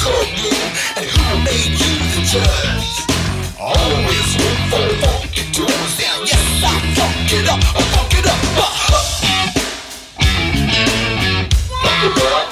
called you, and who made you the judge? Always room for funky tunes. Now, yes, I funk it up, I funk it up. Funk it up.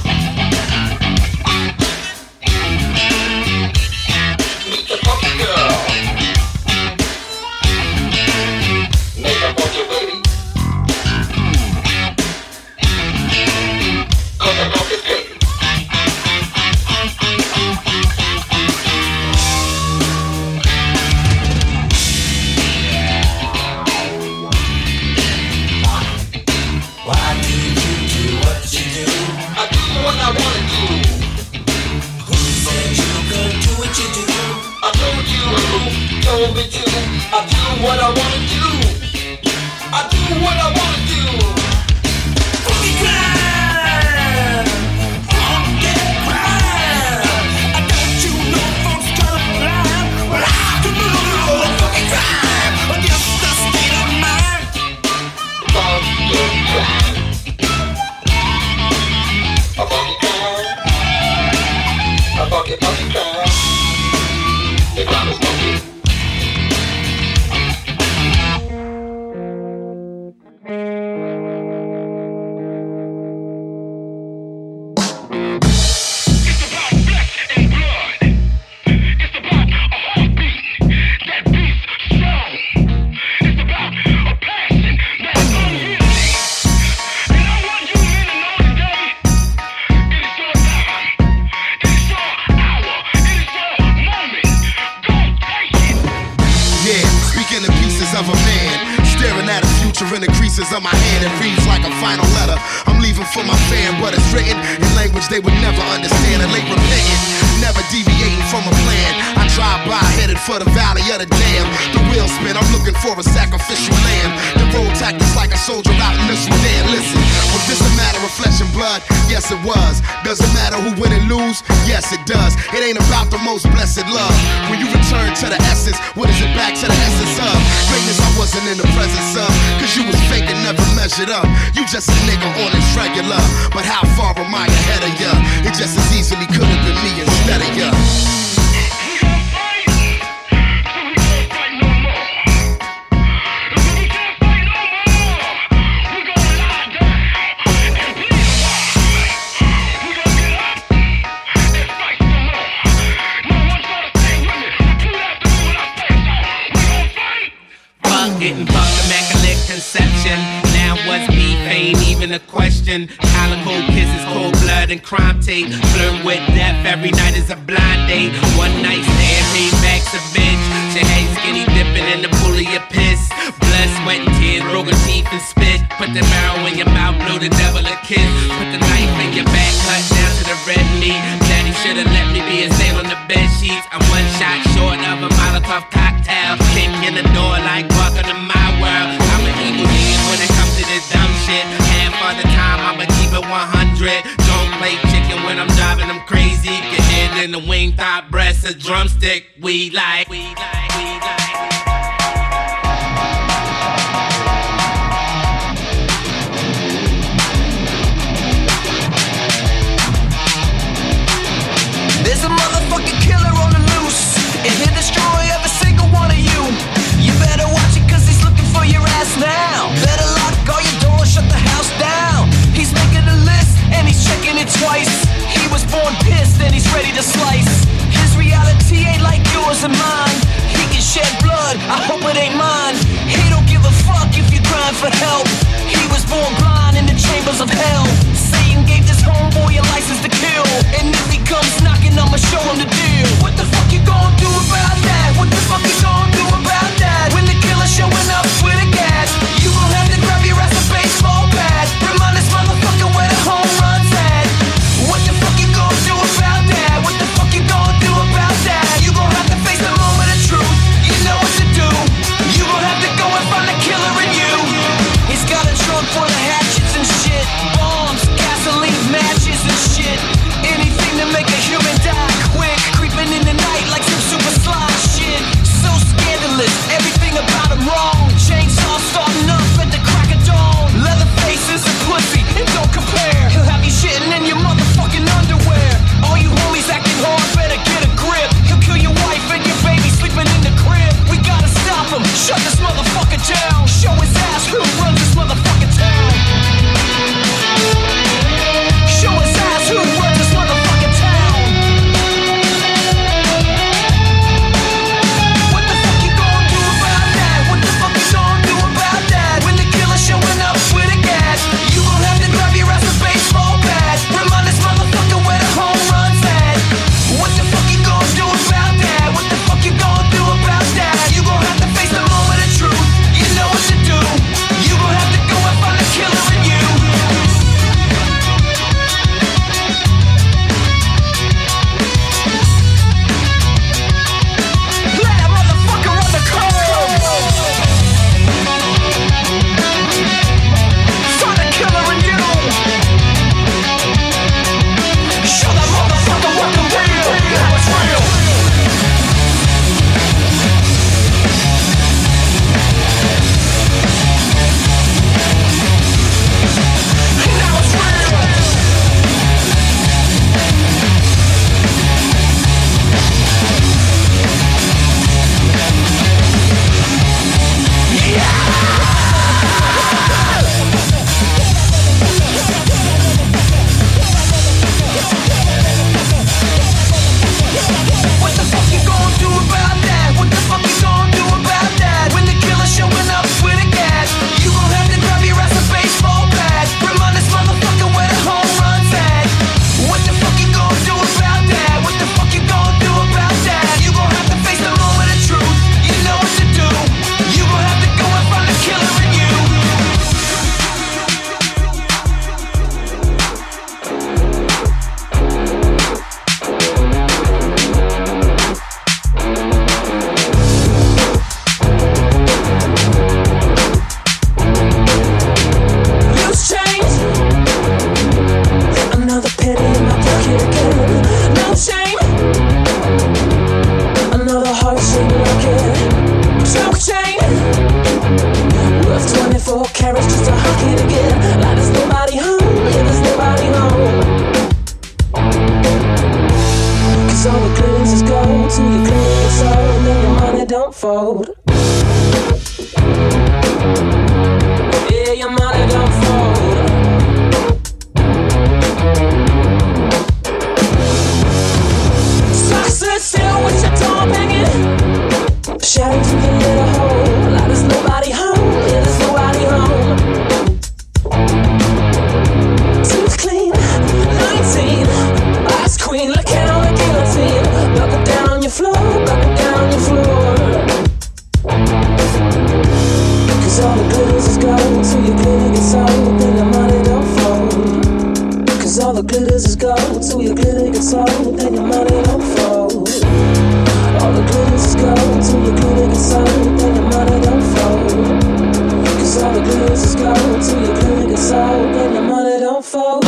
Meet the funky girl. Make up on your baby. Cause I love this baby. Why do you do what you do? I do what I wanna do. Who said you could do what you do? I told you who told me to. I do what I wanna do. I do what I wanna do. Funky crime, funky crime. I got you know folks tryna fly. Well, I can move funky crime against the state of mind. Funky crime. A funky crime. A funky crime. The crime is funky. In the creases of my hand, it reads like a final letter. I'm leaving for my fan, but it's written in language they would never understand. And late repentant, never deviating from a plan. I drive by, headed for the valley of the dam. The wheels spin, I'm looking for a sacrificial lamb. The road tactics like a soldier out in the Sudan. Listen, was this a matter of flesh and blood? Yes, it was. Does it matter who win and lose? Yes, it does. It ain't about the most blessed love. When you return to the essence, what is it back to the essence of? Greatness I wasn't in the presence of, cause you was fake and never measured up. You just a nigga on this regular, but how far am I ahead of ya? It just as easily could have been me instead of ya. Getting bugged, immaculate conception. Now what's beef ain't even a question. Calico kisses, cold blood and crime tape. Flirting with death every night is a blind date. One night stand, payback's a bitch. She ain't skinny dipping in the pool of your piss. Blood, sweat and tears, broken teeth and spit. Put the marrow in your mouth, blow the devil a kiss. Put the knife in your back, cut down to the red meat. Daddy should've let me be a sail on the bed sheets. I'm one shot short of a Molotov cocktail. Kick in the door like welcome to my world. I'm an evil genius when it comes to this dumb shit. Half of the time I'ma keep it 100. Don't play chicken when I'm driving them crazy. Get head in the wing, thigh, breast, a drumstick. We like. There's a motherfucking killer on the loose, and he'll destroy every single one of you. You better watch it cause he's looking for your ass now. Better lock all your doors, shut the house down. He's making a list and he's checking it twice. He was born pissed and he's ready to slice. His reality ain't like yours and mine. He can shed blood, I hope it ain't mine. He don't give a fuck if you crying for help. He was born blind in the chambers of hell. Satan gave this homeboy a license to kill, and if he comes knocking, I'ma show him the deal. What the fuck you gonna do about that? What the fuck you gonna do about that? When the killer's showing up with a gas, you gon' have to grab your ass a baseball bat. Remind this motherfucker where the home run's at. What the fuck you gonna do about that? What the fuck you gonna do about that? You gon' have to face the moment of truth. You know what to do. You gon' have to go and find the killer in you. He's got a trunk full of hatchets and shit, bombs, gasoline, matches and shit. Anything to make a human die. 'Cause all the glitters is gold till you glitter gets old and your money don't fold. Yeah, your money don't fold. Sit still with your tongue hanging, shouting through the little hole. Like there's nobody home, yeah, there's nobody home. Tooth clean, 19, ice queen, look out the guillotine. Buckle down on your floor, buckle down on your floor. 'Cause all the glitters is gold till your glitter gets old, then your money don't fold. 'Cause all the glitters is gold till your glitter gets old, then your money don't fold. All the glitters is gold till your glitter gets old, then your money don't fold. 'Cause all the glitters is gold till your glitter gets old, then your money don't fold.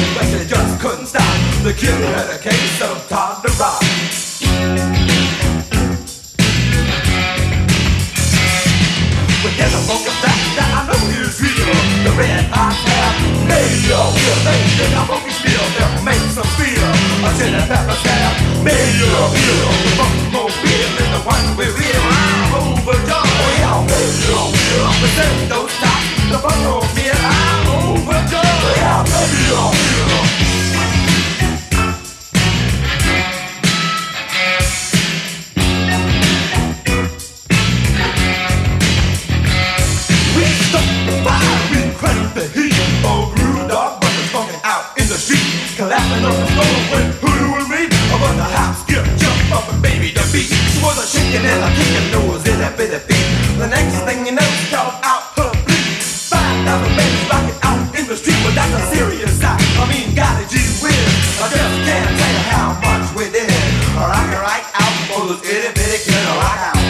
The kid had a case of Todd the Rock. shaking and I'm kicking nose in that bitty beat. The next thing you know, y'all out her bleed. 5,000 babies rocking out in the street, but that's a serious sight. I mean, golly gee whiz, I just can't tell you how much we did. Rockin' right out for those itty bitty kids to rock out.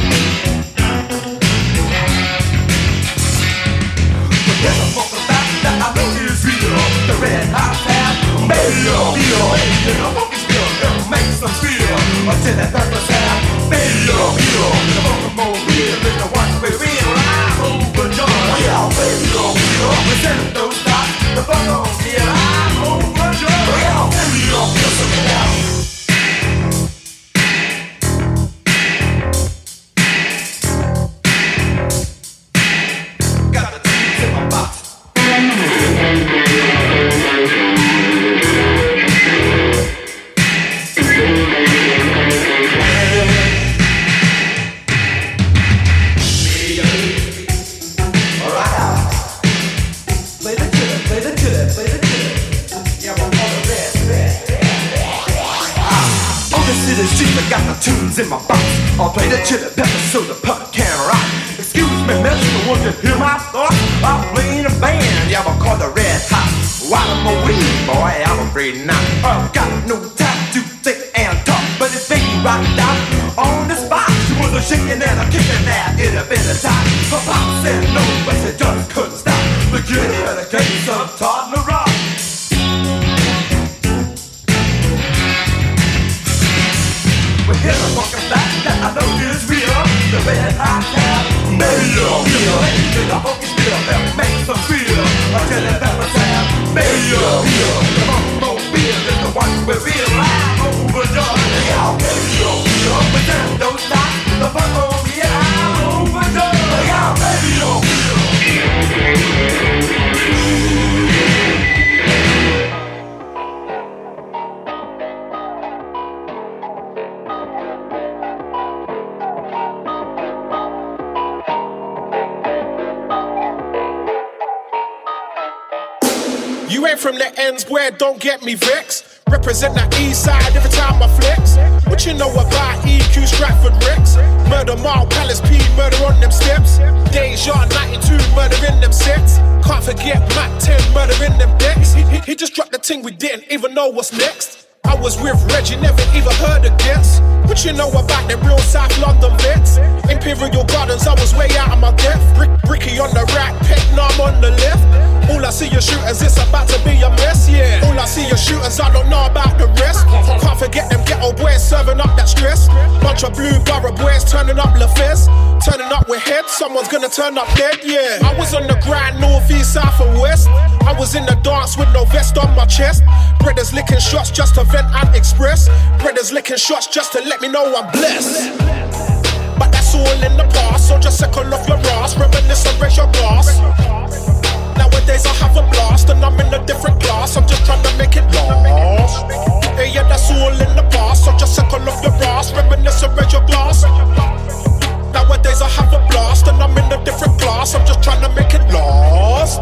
But there's a funk about that I know is real. The red hot tab, baby, the funk is real, it'll make some feel. Until that purple sound, baby, the funk more real than the ones we real. I'm overjoyed, yeah, baby, we send those stops, the funk on real. I'm overjoyed, yeah, baby, listen me now. Got the tunes in my box. I'll play the chili pepper so the punk can rock. Excuse me, mister, won't you hear my thoughts? I'm playing a band, yeah, I call the Red Hot. While I'm a weed boy, I'm afraid not. I've got no time to think and talk, but it's baby rocked out on the spot. She was a shaking and a kicking that in a bit of time. Her pop said no, but she just couldn't stop. The kitty had a case of toddler rock. We hear a fucking back that I know is real. The red hot tab, baby, the funk is real, that makes them feel. Until it never tab, baby, the funk won't feel. It's the one we feel. I'm overjoyed, yeah, baby, we send those stops, the funk won't feel. I'm overjoyed, yeah, baby, You ain't from the ends where don't get me vexed. Represent the east side every time I flex. What you know about EQ Stratford Rex? Murder Mile Palace P, murder on them steps. Deja 92, murder in them sets. Can't forget Mac 10, murder in them decks. He just dropped the thing we didn't even know what's next. I was with Reggie, never even heard of Gets. What you know about the real South London vets? Imperial Gardens, I was way out of my depth. Bricky on the right, Petnam on the left. All I see is shooters, it's about to be a mess, yeah. All I see is shooters, I don't know about the rest. Can't forget them ghetto boys serving up that stress. Bunch of blue borough boys turning up LaFez. Turning up with heads, someone's gonna turn up dead, yeah. I was on the grind, north, east, south and west. I was in the dance with no vest on my chest. Brothers licking shots just to vent and express. Brothers licking shots just to let me know I'm blessed. But that's all in the past, so just circle off your ass, reminisce and raise your glass. Nowadays I have a blast and I'm in a different class. I'm just trying to make it last. Hey, yeah, that's all in the past, so just circle off your ass, reminisce and raise your glass. Nowadays I have a blast and I'm in a different class. I'm just trying to make it last.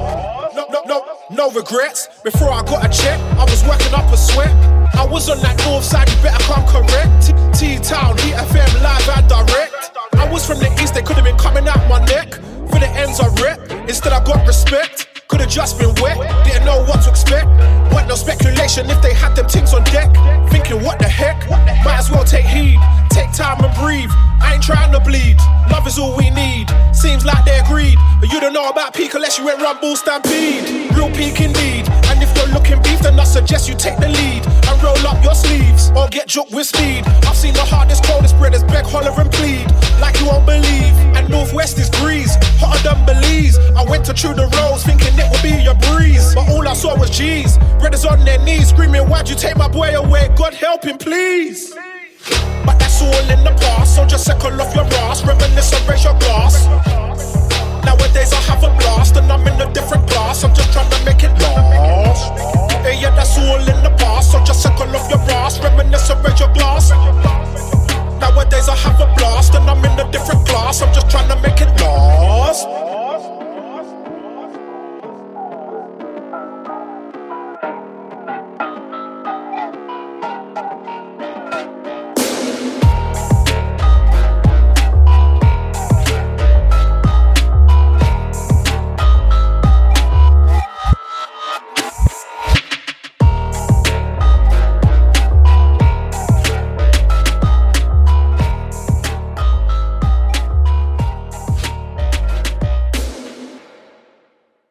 No regrets. Before I got a check, I was working up a sweat. I was on that north side, you better come correct. T-Town, Heat FM, live and direct. I was from the east, they could've been coming out my neck. For the ends I rep, instead I got respect. Could've just been wet, didn't know what to expect. What no speculation if they had them things on deck. Thinking what the heck, might as well take heed. Take time and breathe, I ain't trying to bleed. Love is all we need, seems like they agreed. But you don't know about peak unless you went Rumble Stampede. Real peak indeed, and if you're looking beef then I suggest you take the lead. And roll up your sleeves, or get joked with speed. I've seen the hardest, coldest brothers beg, holler and plead. Like you won't believe, and Northwest is breeze. Hotter than Belize, I went to Tudor Rose thinking it would be a breeze. But all I saw was G's, brothers on their knees screaming, why'd you take my boy away? God help him please. But that's all in the past, so just circle off your ass, reminisce and raise your glass. Nowadays I have a blast and I'm in a different class. I'm just trying to make it last. Hey, yeah, that's all in the past, so just circle off your ass, reminisce and raise your glass. Nowadays I have a blast and I'm in a different class. I'm just trying to make it last.